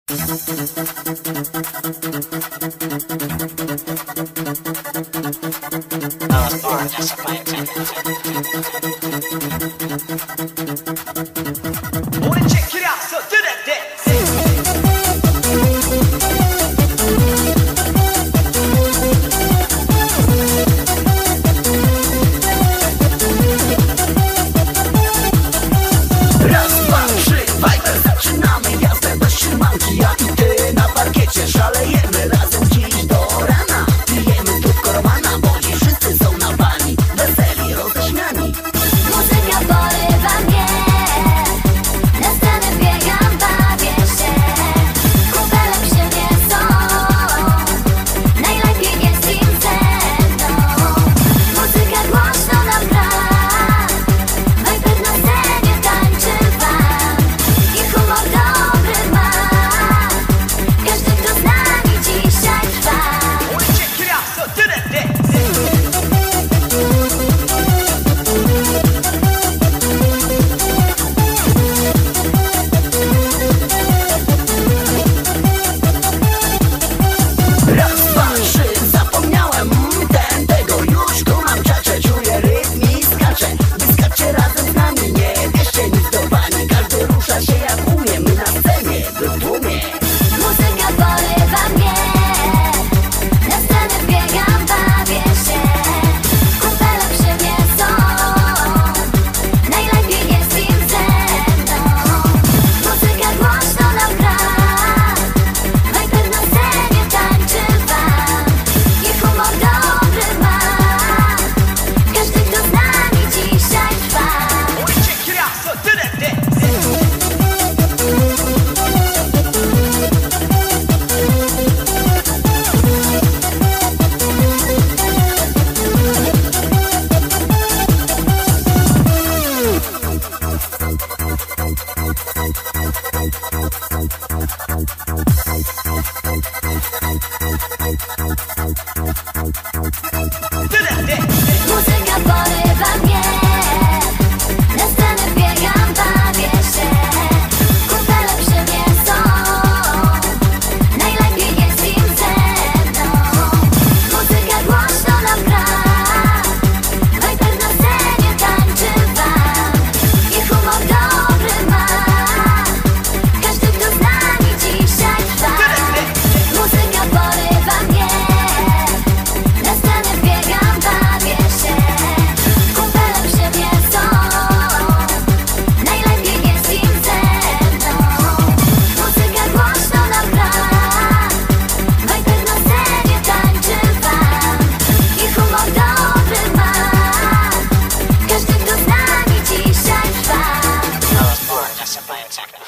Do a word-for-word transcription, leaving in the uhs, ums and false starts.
Wanna check it out, so do that dance. Raz, dwa, trzy, Viper, zaczynamy jazdę bez trzymanki. Ja i ty na parkiecie szalejemy razem dziś do rana. Pijemy tu korwana, bo dziś wszyscy są na bani, weseli, roześmiani. Muzyka porywa mnie, na scenę biegam, bawię się. Kumpele przy mnie są, najlepiej jest im ze mną. Muzyka głośno nam gra, Viper na scenie tańczy wam. I humor dobry ma, każdy kto z nami dzisiaj trwa. Wanna check it out, so do that dance. Raz, dwa, trzy, zapomniałem ten, tego już tu mam czacze. Czuję rytm i skaczę, wyskaczcie razem z nami. Nie bierzcie nic do bani, każdy rusza się jak umie. My na scenie, wy w tłumie. Muzyka porywa mnie, na scenę biegam, bawię się. Kumpele przy mnie są, najlepiej jest im ze mną. Muzyka głośno nam gra, Viper na scenie tańczy wam. I humor dobry ma, każdy kto z nami dzisiaj trwa. Wanna check it out, so do that dance. Do that dance. Muzyka porywa mnie, na scenę biegam, bawię się. Kumpele przy mnie są, najlepiej jest im ze mną. Muzyka głośno nam gra, Viper na scenie tańczy wam. I humor dobry ma, każdy kto z nami dzisiaj trwa. Muzyka porywa mnie, na scenę biegam, bawię się. Kumpele przy mnie są, najlepiej jest im ze mną. Muzyka głośno nam gra, Viper na scenie tańczy wam. I humor dobry ma, każdy kto z nami dzisiaj trwa. I was born just to play a techno.